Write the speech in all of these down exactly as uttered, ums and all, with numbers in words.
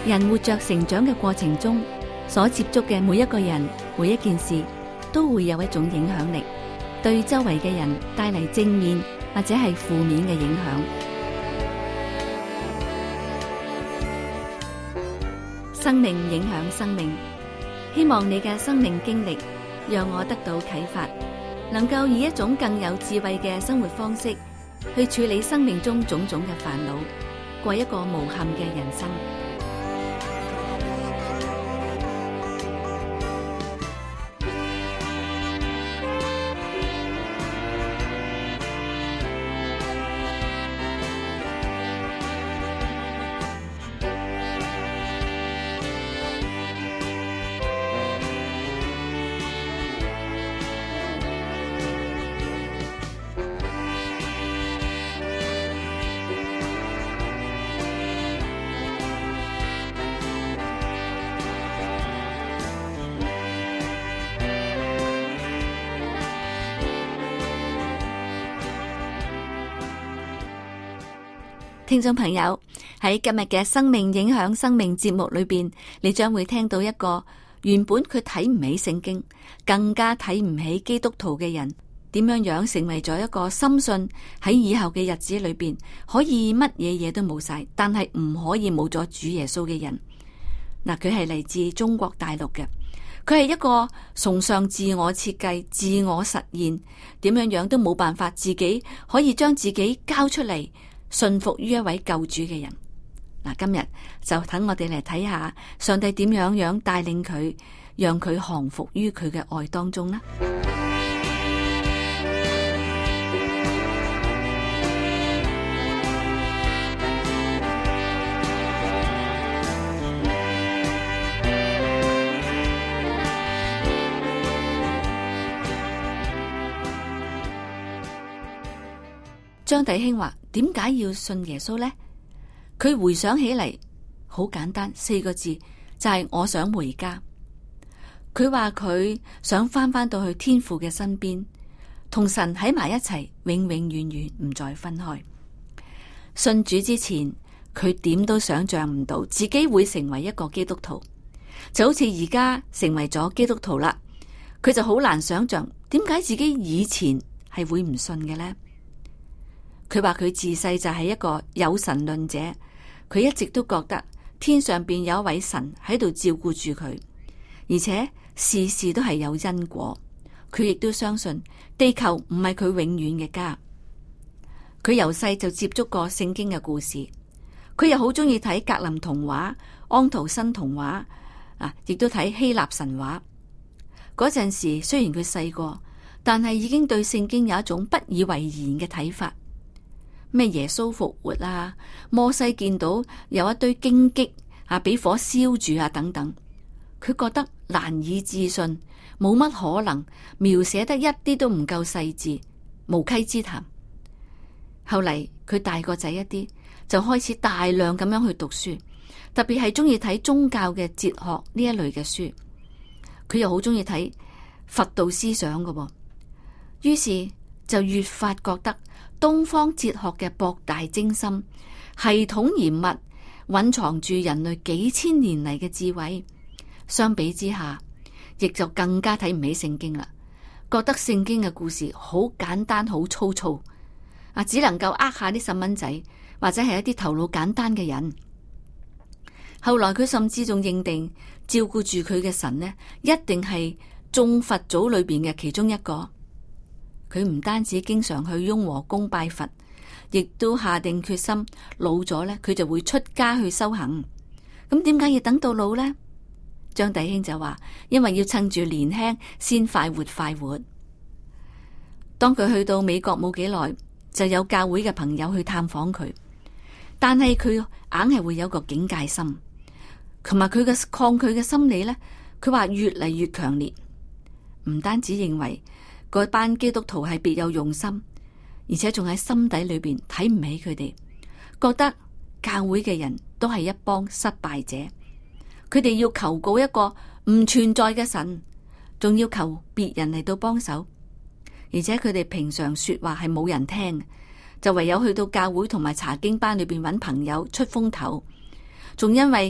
人活着成長嘅過程中，所接觸嘅每一個人、每一件事，都會有一種影響力，對周圍嘅人帶嚟正面或者係負面嘅影響。生命影響生命，希望你嘅生命經歷讓我得到啟發，能夠以一種更有智慧嘅生活方式去處理生命中種種嘅煩惱，過一個無憾嘅人生。聽眾朋友，喺今日嘅生命影響生命節目裏邊，你將會聽到一個原本佢睇唔起聖經，更加睇唔起基督徒嘅人，點樣樣成為咗一個深信喺以後嘅日子裏邊可以乜嘢嘢都冇晒，但係唔可以冇咗主耶穌嘅人。嗱，佢係嚟自中國大陸嘅，佢係一個崇尚自我設計、自我實現，點樣樣都冇辦法自己可以將自己交出嚟，信服於一位救主嘅人。嗱，今日就等我哋嚟睇下上帝點樣樣帶領佢，讓佢降服於佢嘅愛當中啦。張弟兄話：點解要信耶穌呢？佢回想起嚟，好簡單，四個字就係我想回家。佢話佢想翻返到去天父嘅身邊，同神喺埋一齊，永永遠遠唔再分開。信主之前，佢點都想象唔到自己會成為一個基督徒，就好似而家成為咗基督徒啦。佢就好難想象點解自己以前係會唔信嘅呢？佢話佢自細就係一個有神論者，佢一直都覺得天上邊有一位神喺度照顧住佢，而且事事都係有因果。佢亦都相信地球唔係佢永遠嘅家。佢由細就接觸過聖經嘅故事，佢又好中意睇格林童話、安徒生童話啊，亦都睇希臘神話。嗰陣時雖然佢細個，但係已經對聖經有一種不以為然嘅睇法。咩耶穌復活啊，摩西見到有一堆荊棘啊，俾火燒住啊，等等，佢覺得難以置信，冇乜可能，描寫得一啲都唔夠細緻，無稽之談。後嚟佢大個仔一啲，就開始大量咁樣去讀書，特別係中意睇宗教嘅哲學呢一類嘅書。佢又好中意睇佛道思想嘅噃，於是就越發覺得東方哲學嘅博大精深、系統嚴密，蘊藏住人類幾千年嚟嘅智慧。相比之下，亦就更加睇唔起聖經啦，覺得聖經嘅故事好簡單、好粗糙，啊，只能夠呃下啲細蚊仔，或者係一啲頭腦簡單嘅人。後來佢甚至仲認定照顧住佢嘅神呢，一定係眾佛祖裏邊嘅其中一個。佢唔單止經常去雍和宮拜佛，亦都下定決心，老咗咧佢就會出家去修行。咁點解要等到老呢？張弟兄就話，因為要趁住年輕先快活快活。當佢去到美國冇幾耐，就有教會嘅朋友去探訪佢，但係佢硬係會有個警戒心，同埋佢嘅抗拒嘅心理咧，佢話越嚟越強烈。唔單止認為嗰班基督徒係別有用心，而且仲喺心底裏邊睇唔起佢哋，覺得教會嘅人都係一幫失敗者，佢哋要求告一個唔存在嘅神，仲要求別人嚟到幫手，而且佢哋平常說話係冇人聽，就唯有去到教會同埋查經班裏邊揾朋友出風頭，仲因為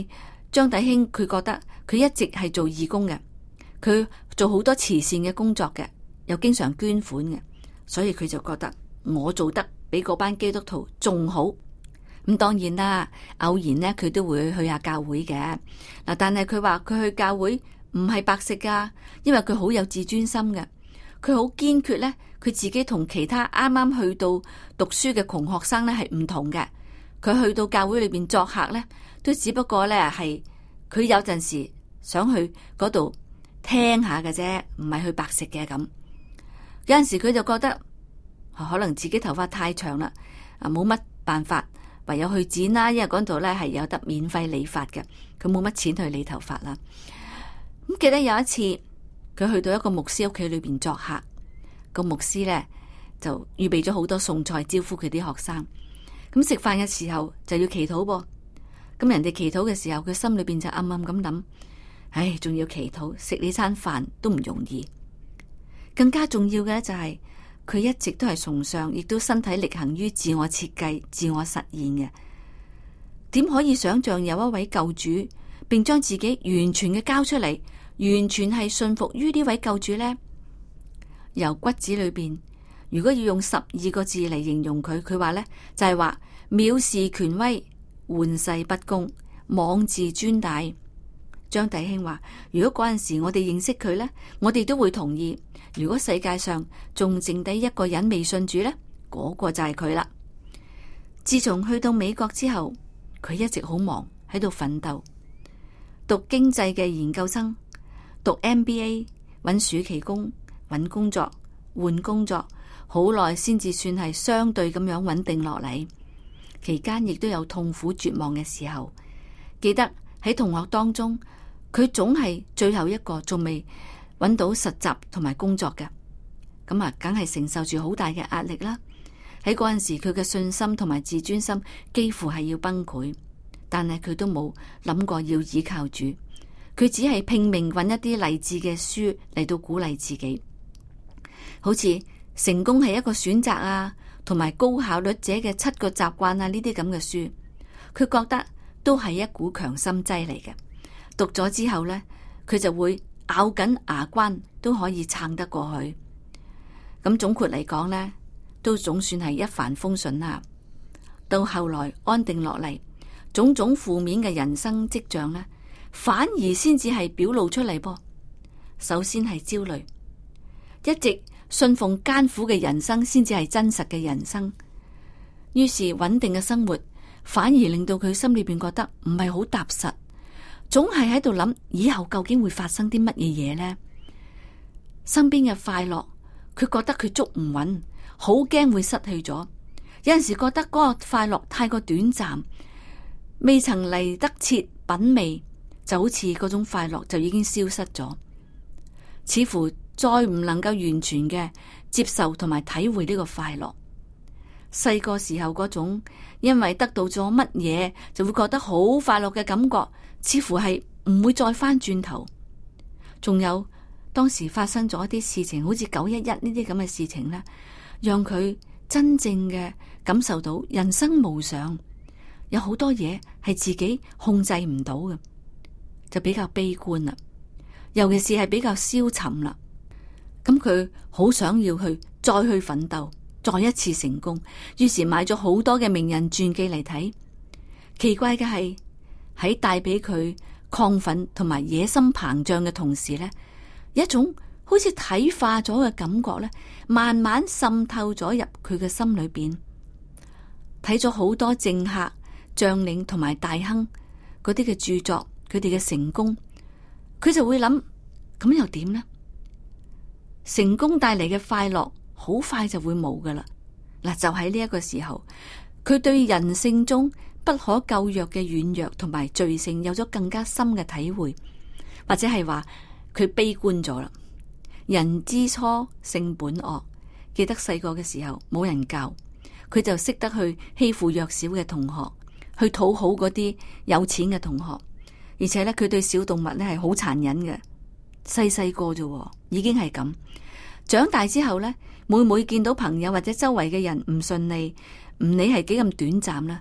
張弟兄佢覺得佢一直係做義工嘅，佢做好多慈善嘅工作嘅，又經常捐款嘅，所以佢就覺得我做得比嗰班基督徒仲好。咁當然啦，偶然呢，佢都會去下教會嘅嗱，但係佢話佢去教會唔係白食噶，因為佢好有自尊心嘅，佢好堅決咧，佢自己同其他啱啱去到讀書嘅窮學生咧係唔同嘅。佢去到教會裏邊作客咧，都只不過咧係佢有陣時想去嗰度聽下嘅啫，唔係去白食嘅咁。有陣時佢就覺得可能自己頭髮太長啦，啊冇乜辦法。唯有去剪啦，因為嗰度咧係有得免費理髮嘅，佢冇乜錢去理頭髮啦。咁記得有一次，佢去到一個牧師屋企裏邊作客，個牧師咧就預備咗好多餸菜招呼佢啲學生。咁食飯嘅時候就要祈禱噃，咁人哋祈禱嘅時候，佢心裏邊就暗暗咁諗：唉，仲要祈禱，食呢餐飯都唔容易。更加重要嘅咧就係、是。佢一直都係崇尚，亦都身體力行於自我設計、自我實現嘅。點可以想象有一位救主，並將自己完全嘅交出嚟，完全係信服於呢位救主呢？由骨子裏邊，如果要用十二個字嚟形容佢，佢話呢就係話藐視權威、玩世不恭、妄自尊大。張弟兄話：如果嗰陣時我哋認識佢呢，我哋都會同意。如果世界上仲剩低一個人未信主呢，嗰個就係佢啦。自從去到美國之後，佢一直好忙喺度奮鬥，讀經濟嘅研究生，讀 M B A， 揾暑期工，揾工作，換工作，好耐先至算係相對咁樣穩定落嚟。期間亦都有痛苦絕望嘅時候，記得喺同學當中，佢總係最後一個仲未揾到實習同埋工作嘅，咁啊，梗係承受住好大嘅壓力啦。喺嗰陣時，佢嘅信心同埋自尊心幾乎係要崩潰，但係佢都冇諗過要依靠主，佢只係拼命揾一啲勵志嘅書嚟到鼓勵自己，好似成功係一個選擇啊，同埋高效率者嘅七個習慣啊，呢啲咁嘅書，佢覺得都係一股強心劑嚟嘅。讀咗之後呢，佢就會咬緊牙關都可以撐得過去。咁總括嚟講呢，都總算係一帆風順啦。到後來安定落嚟，種種負面嘅人生跡象呢，反而先至係表露出嚟噃。首先係焦慮，一直信奉艱苦嘅人生先至係真實嘅人生。於是穩定嘅生活反而令到佢心裏邊覺得唔係好踏實。總係喺度諗以後究竟會發生啲乜嘢嘢呢？身邊嘅快樂，佢覺得佢捉唔穩，好驚會失去咗。有陣時覺得嗰個快樂太過短暫，未曾嚟得切品味，就好似嗰種快樂就已經消失咗，似乎再唔能夠完全嘅接受同埋體會呢個快樂。細個時候嗰種因為得到咗乜嘢就會覺得好快樂嘅感覺，似乎係唔會再翻轉頭。仲有當時發生咗一啲事情，好似九一一呢啲咁嘅事情呢，讓佢真正嘅感受到人生無常，有好多嘢係自己控制唔到嘅，就比較悲觀啦。尤其是係比較消沉啦。咁佢好想要去再去奮鬥，再一次成功，於是買咗好多嘅名人傳記嚟睇。奇怪嘅係喺帶俾佢亢奮同埋野心膨脹嘅同時呢，一種好似體化咗嘅感覺呢，慢慢滲透咗入佢嘅心裏邊。睇咗好多政客、將領同埋大亨嗰啲嘅著作，佢哋嘅成功，佢就會諗，咁又點呢？成功帶嚟嘅快樂好快就會冇噶啦。嗱，就喺呢一個時候，佢對人性中不可救藥嘅軟弱同埋罪性有咗更加深嘅體會，或者係話佢悲觀咗啦。人之初性本惡，記得細個嘅時候冇人教，佢就識得去欺負弱小嘅同學，去討好嗰啲有錢嘅同學，而且咧佢對小動物咧係好殘忍嘅。細細個啫，已經係咁。長大之後咧，每每見到朋友或者周圍嘅人唔順利，唔理係幾咁短暫啦，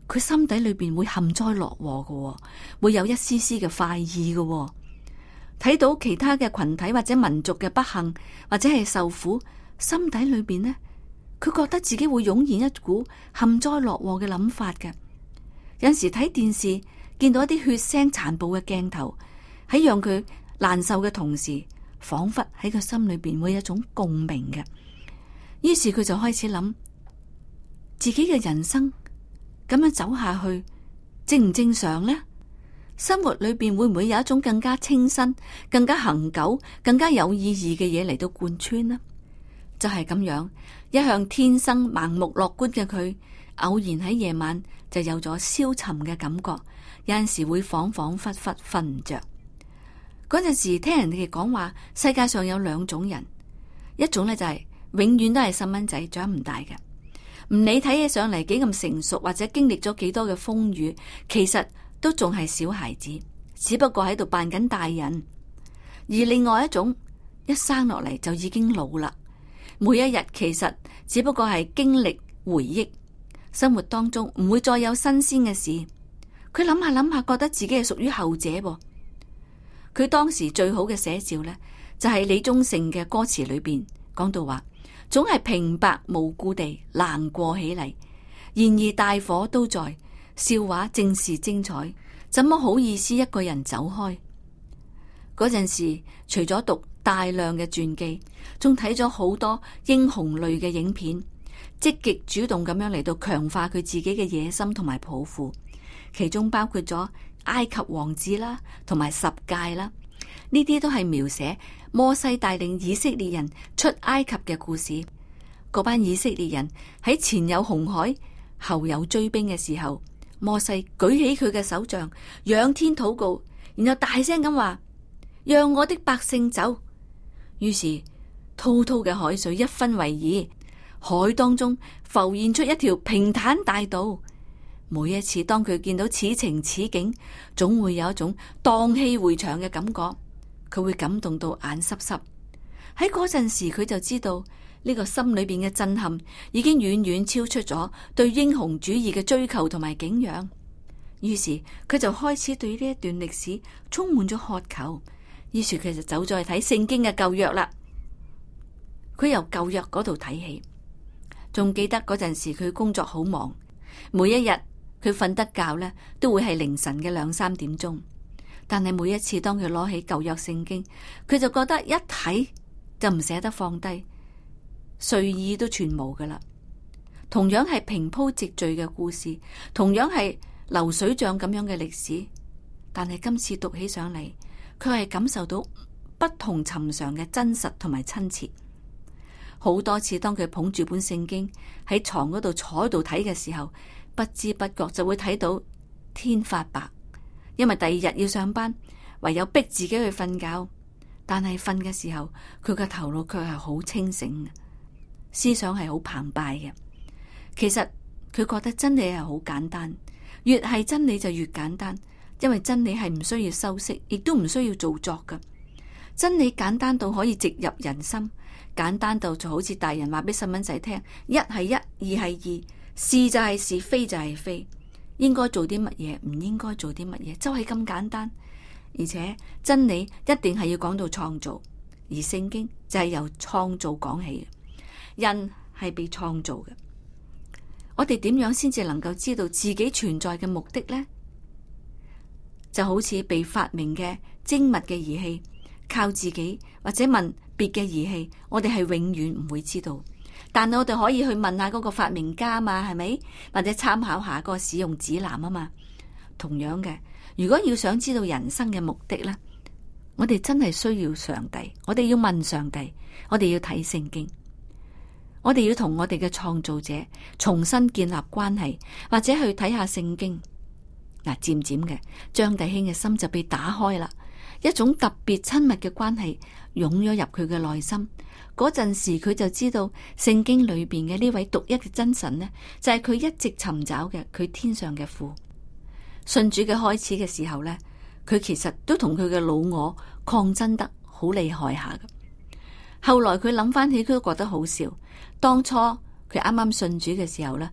佢心底裏邊會幸災樂禍嘅，會有一絲絲嘅快意嘅。睇到其他嘅群體或者民族嘅不幸或者係受苦，心底裏邊呢，佢覺得自己會湧現一股幸災樂禍嘅諗法嘅。有陣時睇電視見到一啲血腥殘暴嘅鏡頭，喺讓佢難受嘅同時，仿佛喺佢心裏邊會有一種共鳴嘅。於是佢就開始諗自己嘅人生咁樣走下去正唔正常呢？生活裏邊會唔會有一種更加清新、更加恆久、更加有意義嘅嘢嚟到貫穿呢？就係咁樣，一向天生盲目樂觀嘅佢，偶然喺夜晚就有咗消沉嘅感覺，有陣時會恍恍惚惚瞓唔着。嗰陣時聽人哋講話，世界上有兩種人，一種咧就係永遠都係細蚊仔，長唔大嘅，唔理睇起上嚟幾咁成熟，或者經歷咗幾多嘅風雨，其實都仲係小孩子，只不過喺度扮緊大人。而另外一種，一生落嚟就已經老啦，每一日其實只不過係經歷回憶，生活當中唔會再有新鮮嘅事。佢諗下諗下，覺得自己係屬於後者噃。佢當時最好嘅寫照呢，就係李宗盛嘅歌詞裏邊講到話，總係平白無故地難過起嚟，然而大伙都在，笑話正是精彩，怎麼好意思一個人走開？嗰陣時，除咗讀大量嘅傳記，仲睇咗好多英雄類嘅影片，積極主動咁樣嚟到強化佢自己嘅野心同埋抱負，其中包括咗埃及王子啦，同埋十誡啦，呢啲都係描寫摩西帶領以色列人出埃及嘅故事。嗰班以色列人喺前有紅海，後有追兵嘅時候，摩西舉起佢嘅手杖，仰天禱告，然後大聲咁話：讓我的百姓走。於是滔滔嘅海水一分為二，海當中浮現出一條平坦大道。每一次當佢見到此情此景，總會有一種蕩氣迴腸嘅感覺，佢會感動到眼濕濕。喺嗰陣時，佢就知道呢個心裏邊嘅震撼已經遠遠超出咗對英雄主義嘅追求同埋敬仰。於是佢就開始對呢一段歷史充滿咗渴求。於是佢就走咗去睇聖經嘅舊約啦。佢由舊約嗰度睇起，仲記得嗰陣時佢工作好忙，每一日佢瞓得覺呢都會係凌晨嘅兩三點鐘。但係每一次當佢攞起舊約聖經，佢就覺得一睇就唔捨得放低，睡意都全無噶啦。同樣係平鋪直敘嘅故事，同樣係流水賬咁樣嘅歷史，但係今次讀起上嚟，佢係感受到不同尋常嘅真實同埋親切。好多次當佢捧住本聖經喺床嗰度坐喺度睇嘅時候，不知不覺就會睇到天發白，因為第二日要上班，唯有逼自己去瞓覺。但係瞓嘅時候，佢嘅頭腦卻係好清醒嘅，思想係好澎湃嘅。其實佢覺得真理係好簡單，越係真理就越簡單，因為真理係唔需要修飾，亦都唔需要做作㗎。真理簡單到可以直入人心，簡單到就好似大人話俾細蚊仔聽：一係一，二係二，是就係是，非就係非，應該做啲乜嘢，唔應該做啲乜嘢，就係咁簡單。而且真理一定係要講到創造，而聖經就係由創造講起嘅。人係被創造嘅，我哋點樣先至能夠知道自己存在嘅目的呢？就好似被發明嘅精密嘅儀器，靠自己或者問別嘅儀器，我哋係永遠唔會知道。但係我哋可以去問下嗰個發明家嘛，係咪？或者參考下嗰個使用指南啊嘛。同樣嘅，如果要想知道人生嘅目的呢，我哋真係需要上帝，我哋要問上帝，我哋要睇聖經，我哋要同我哋嘅創造者重新建立關係，或者去睇下聖經。嗱，漸漸嘅，張弟兄嘅心就被打開啦，一種特別親密嘅關係湧咗入佢嘅內心。嗰陣時佢就知道聖經裏邊嘅呢位獨一嘅真神呢，就係佢一直尋找嘅佢天上嘅父。信主嘅開始嘅時候呢，佢其實都同佢嘅老我抗爭得好厲害下嘅。後來佢諗翻起，佢都覺得好笑。當初佢啱啱信主嘅時候呢，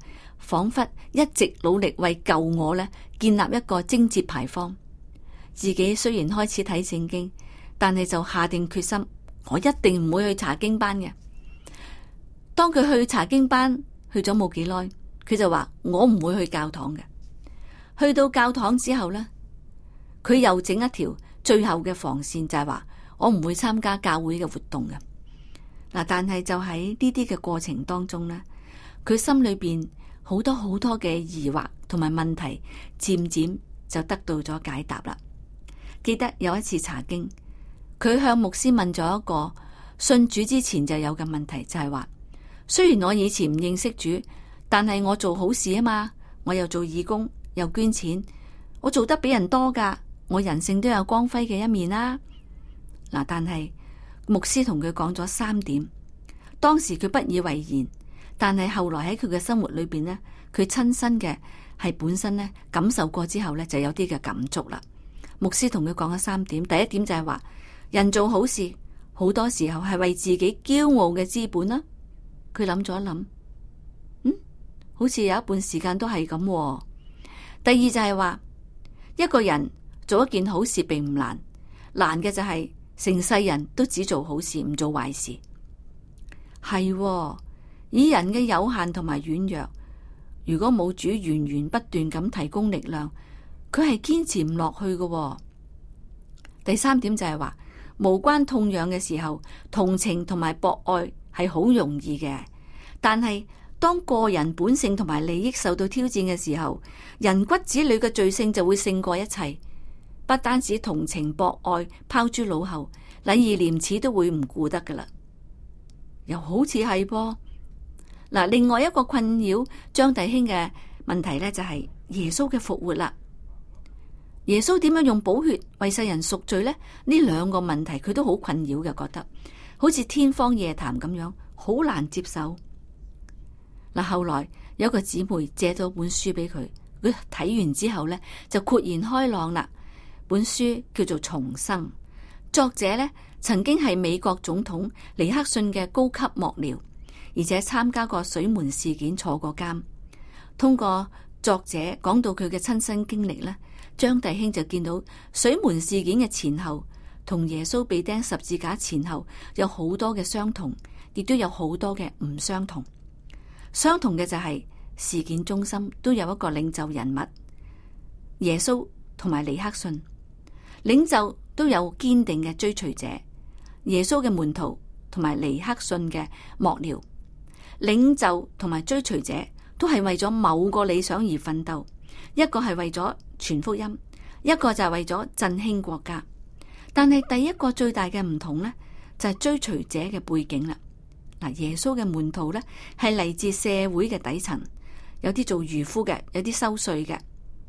仿佛一直努力為救我呢建立一個貞節牌坊。自己雖然開始睇聖經，但係就下定決心，我一定唔會去查經班嘅。當佢去查經班去咗冇幾耐，佢就話我唔會去教堂嘅。去到教堂之後呢，佢又整一條最後嘅防線，就係話我唔會參加教會嘅活動嘅。嗱，但係就喺呢啲嘅過程當中呢，佢心裏邊好多好多嘅疑惑同埋問題，漸漸就得到咗解答啦。記得有一次查經，佢向牧師問咗一個信主之前就有嘅問題，就係話，雖然我以前唔認識主，但係我做好事啊嘛，我又做義工，又捐錢，我做得比人多噶，我人性都有光輝嘅一面啦。嗱，但係牧師同佢講咗三點，當時佢不以為然，但係後來喺佢嘅生活裏邊呢，佢親身嘅係本身呢感受過之後呢，就有啲嘅感觸啦。牧師同佢講咗三點，第一點就係話，人做好事好多時候係為自己驕傲嘅資本啦。佢諗咗一諗，嗯，好似有一半時間都係咁喎。第二就係話，一個人做一件好事並唔難，難嘅就係成世人都只做好事唔做壞事。係喎，以人嘅有限同埋軟弱，如果冇主源源不斷咁提供力量，佢係堅持唔落去嘅喎。第三點就係話，無關痛癢嘅時候，同情同埋博愛係好容易嘅，但係當個人本性同埋利益受到挑戰嘅時候，人骨子裏嘅罪性就會勝過一切。不單止同情博愛拋諸腦後，禮義廉恥都會唔顧得噶啦。又好似係噃。嗱，另外一個困擾張弟兄嘅問題呢，就係耶穌嘅復活啦。耶穌點樣用寶血為世人贖罪呢？呢兩個問題佢都好困擾嘅，覺得好似天方夜譚咁樣，好難接受。嗱，後來有個姊妹借咗本書俾佢，佢睇完之後呢，就豁然開朗啦。本書叫做《重生》，作者呢曾經係美國總統尼克遜嘅高級幕僚，而且參加過水門事件，坐過監。通過作者講到佢嘅親身經歷呢，張弟兄就見到水門事件嘅前後同耶穌被釘十字架前後有好多嘅相同，亦都有好多嘅唔相同。相同嘅就係事件中心都有一個領袖人物，耶穌同埋尼克遜。領袖都有堅定嘅追隨者，耶穌嘅門徒同埋尼克遜嘅幕僚。領袖同埋追隨者都係為咗某個理想而奮鬥，一個係為咗傳福音，一個就係為咗振興國家。但係第一個最大嘅唔同呢，就係追隨者嘅背景啦。嗱，耶穌嘅門徒呢，係嚟自社會嘅底層，有啲做漁夫嘅，有啲收稅嘅。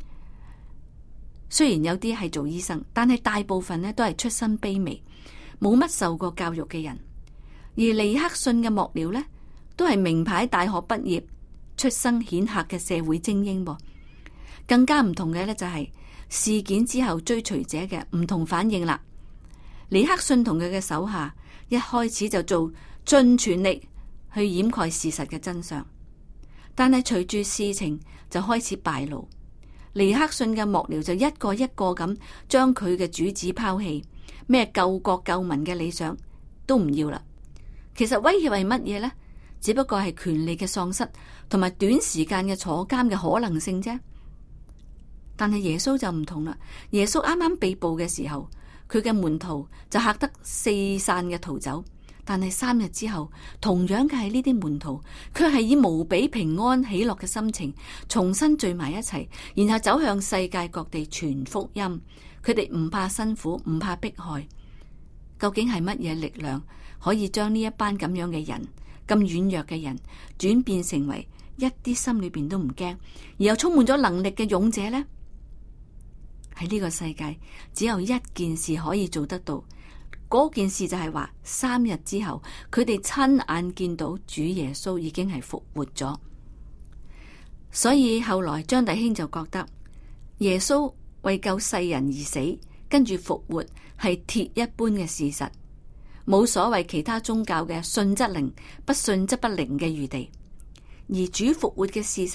雖然有啲係做醫生，但係大部分呢都係出身卑微，冇乜受過教育嘅人。而尼克遜嘅幕僚呢，都係名牌大學畢業、出身顯赫嘅社會精英噃。更加唔同嘅呢，就係事件之後追隨者嘅唔同反應啦。尼克遜同佢嘅手下一開始就做盡全力去掩蓋事實嘅真相，但係隨住事情就開始敗露。尼克遜嘅幕僚就一個一個咁將佢嘅主旨拋棄，咩救國救民嘅理想都唔要啦。其實威脅係乜嘢呢？只不過係權力嘅喪失同埋短時間嘅坐監嘅可能性啫。但係耶穌就唔同啦。耶穌啱啱被捕嘅時候，佢嘅門徒就嚇得四散嘅逃走。但係三日之後，同樣嘅係呢啲門徒，卻係以無比平安喜樂嘅心情，重新聚埋一齊，然後走向世界各地傳福音。佢哋唔怕辛苦，唔怕迫害。究竟係乜嘢力量可以將呢一班咁樣嘅人，咁軟弱嘅人，轉變成為一啲心裏邊都唔驚，而又充滿咗能力嘅勇者呢？喺呢個世界，只有一件事可以做得到。嗰件事就係話，三日之後，佢哋親眼見到主耶穌已經係復活咗。所以後來張弟兄就覺得耶穌為救世人而死，跟住復活係鐵一般嘅事實，冇所謂其他宗教嘅信則靈，不信則不靈嘅餘地。而主復活嘅事實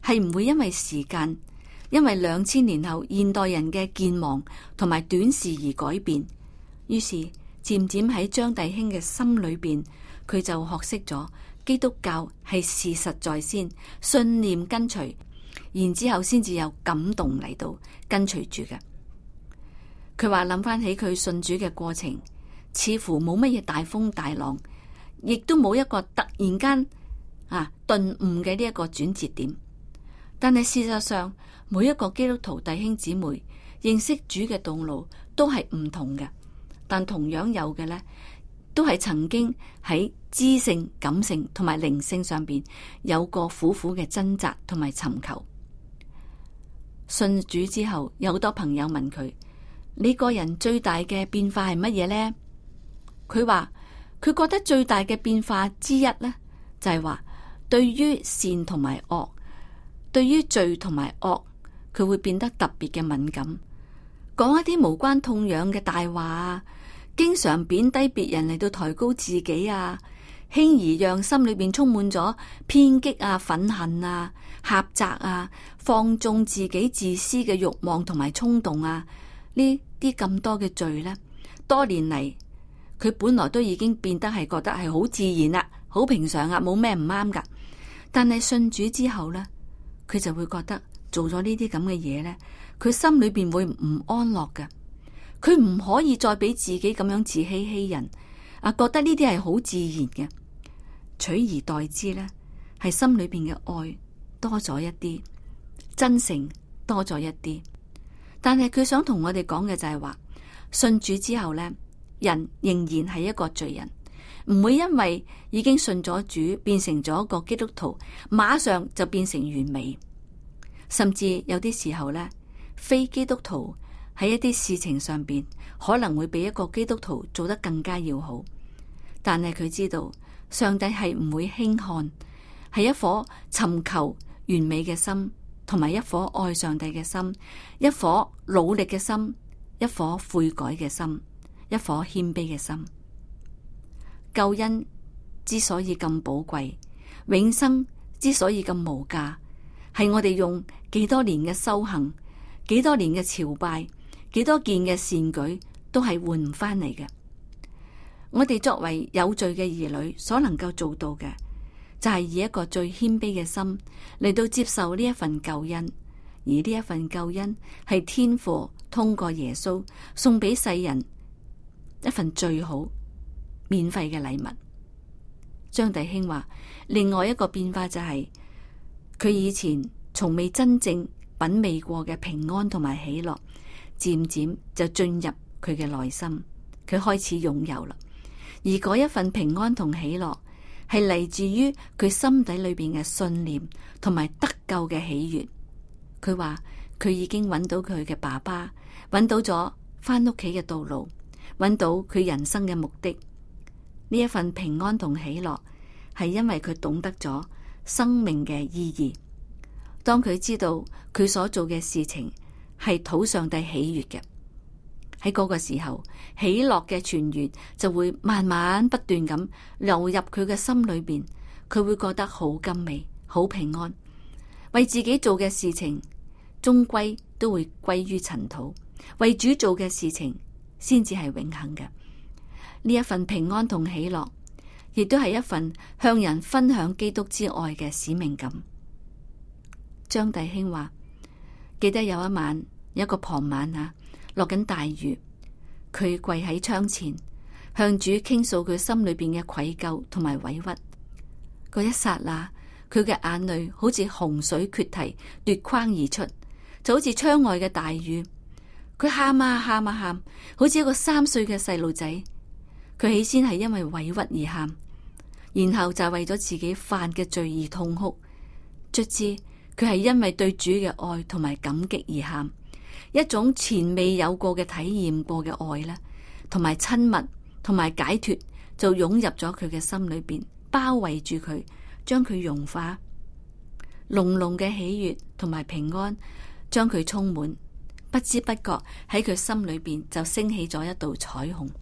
係唔會因為時間，因為兩千年後現代人嘅健忘同埋短視而改變。於是漸漸喺張弟兄嘅心裏邊，佢就學識咗基督教係事實在先，信念跟隨，然之後先至有感動嚟到跟隨住嘅。佢話諗翻起佢信主嘅過程，似乎冇乜嘢大風大浪，亦都冇一個突然間啊頓悟嘅呢一個轉折點。但係事實上，每一個基督徒弟兄姊妹認識主嘅道路都係唔同嘅，但同樣有嘅呢，都係曾經喺知性、感性同埋靈性上邊有過苦苦嘅掙扎同埋尋求。信主之後，有好多朋友問佢：你個人最大嘅變化係乜嘢呢？佢話佢覺得最大嘅變化之一呢，就係話對於善同埋惡，對於罪同埋惡，佢會變得特別嘅敏感，講一啲無關痛癢嘅大話啊，經常貶低別人嚟到抬高自己啊，輕易讓心裏邊充滿咗偏激啊、憤恨啊、狹窄啊，放縱自己自私嘅慾望同埋衝動啊，呢啲咁多嘅罪呢，多年嚟佢本來都已經變得係覺得係好自然啦，好平常啊，冇咩唔啱噶。但係信主之後呢，佢就會覺得做咗呢啲咁嘅嘢呢，佢心裏邊會唔安樂嘅。佢唔可以再俾自己咁樣自欺欺人啊，覺得呢啲係好自然嘅，取而代之呢，係心裏邊嘅愛多咗一啲，真誠多咗一啲。但係佢想同我哋講嘅就係話，信主之後呢，人仍然係一個罪人，唔會因為已經信咗主，變成咗一個基督徒，馬上就變成完美。甚至有啲時候呢，非基督徒喺一啲事情上邊可能會比一個基督徒做得更加要好。但係佢知道上帝係唔會輕看，係一顆尋求完美嘅心，同埋一顆愛上帝嘅心，一顆努力嘅心，一顆悔改嘅心，一顆謙卑嘅心。救恩之所以咁寶貴，永生之所以咁無價，係我哋用幾多年嘅修行，幾多年嘅朝拜，幾多件嘅善舉，都係換唔翻嚟嘅。我哋作為有罪嘅兒女，所能夠做到嘅，就係以一個最謙卑嘅心嚟到接受呢一份救恩，而呢一份救恩係天父通過耶穌送俾世人一份最好免費嘅禮物。張弟兄話，另外一個變化就係、是、佢以前從未真正品味過嘅平安同埋喜樂，漸漸就進入佢嘅內心，佢開始擁有啦。而嗰一份平安同喜樂係嚟自於佢心底裏邊嘅信念同埋得救嘅喜悅。佢話佢已經揾到佢嘅爸爸，揾到咗返屋企嘅道路，揾到佢人生嘅目的。呢一份平安同喜樂係因為佢懂得咗生命嘅意義。當佢知道佢所做嘅事情係討上帝喜悅嘅，喺嗰個時候，喜樂嘅泉源就會慢慢不斷咁流入佢嘅心裏邊，佢會覺得好甘美、好平安。為自己做嘅事情終歸都會歸於塵土，為主做嘅事情先至係永恆嘅。呢一份平安同喜樂，亦都係一份向人分享基督之愛嘅使命感。張弟兄話，記得有一晚，有一個傍晚啊，落緊大雨，佢跪喺窗前，向主傾訴佢心裏邊嘅愧疚同埋委屈。嗰一剎那，佢嘅眼淚好似洪水決堤奪眶而出，就好似窗外嘅大雨。佢喊啊喊啊喊，好似一個三歲嘅細路仔。佢起先係因為委屈而喊，然後就係為咗自己犯嘅罪而痛哭。卒之，佢係因為對主嘅愛同埋感激而喊，一種前未有過嘅體驗過嘅愛咧，同埋親密同埋解脫就湧入咗佢嘅心裏邊，包圍住佢，將佢融化。濃濃嘅喜悅同埋平安將佢充滿，不知不覺喺佢心裏邊就升起咗一道彩虹。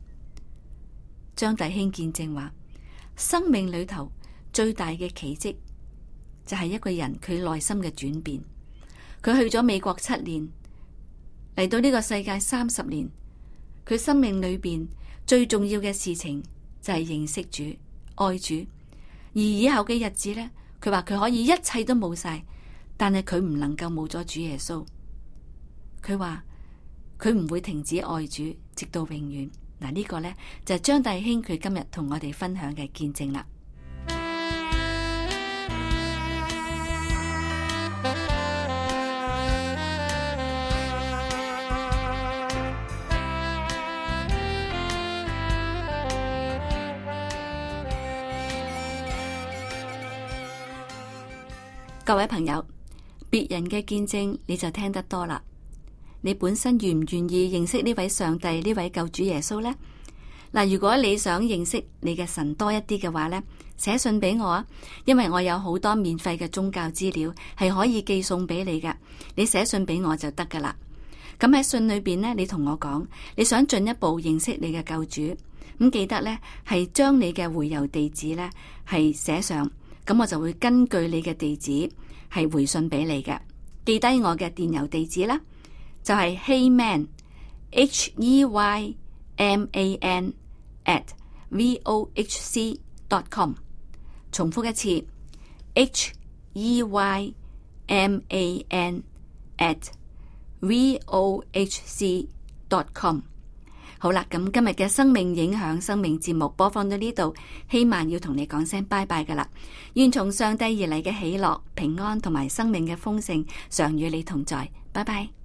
張弟兄見證話，生命裏頭最大嘅奇蹟就係一個人佢內心嘅轉變。佢去咗美國七年，嚟到呢個世界三十年，佢生命裏邊最重要嘅事情就係認識主、愛主。而以後嘅日子呢，佢話佢可以一切都冇晒，但係佢唔能夠冇咗主耶穌。佢話佢唔會停止愛主，直到永遠。嗱，呢個呢，就係張弟兄佢今日同我哋分享嘅見證啦。各位朋友，別人嘅見證你就聽得多啦。你本身願唔願意認識呢位上帝、呢位救主耶穌呢？嗱，如果你想認識你嘅神多一啲嘅話呢，寫信俾我啊，因為我有好多免費嘅宗教資料係可以寄送俾你噶。你寫信俾我就得噶啦。咁喺信裏邊呢，你同我講你想進一步認識你嘅救主，咁記得呢係將你嘅回郵地址呢係寫上。咁我就會根據你嘅地址係回信俾你嘅。記低我嘅電郵地址啦，就係 Heyman H E Y M A N at V O H C dot com。 重複一次 H E Y M A N at V O H C dot com。好啦，咁今日嘅生命影響生命節目播放到呢度，希望要同你講聲拜拜噶啦。願從上帝而嚟嘅喜樂、平安同埋生命嘅豐盛常與你同在。拜拜。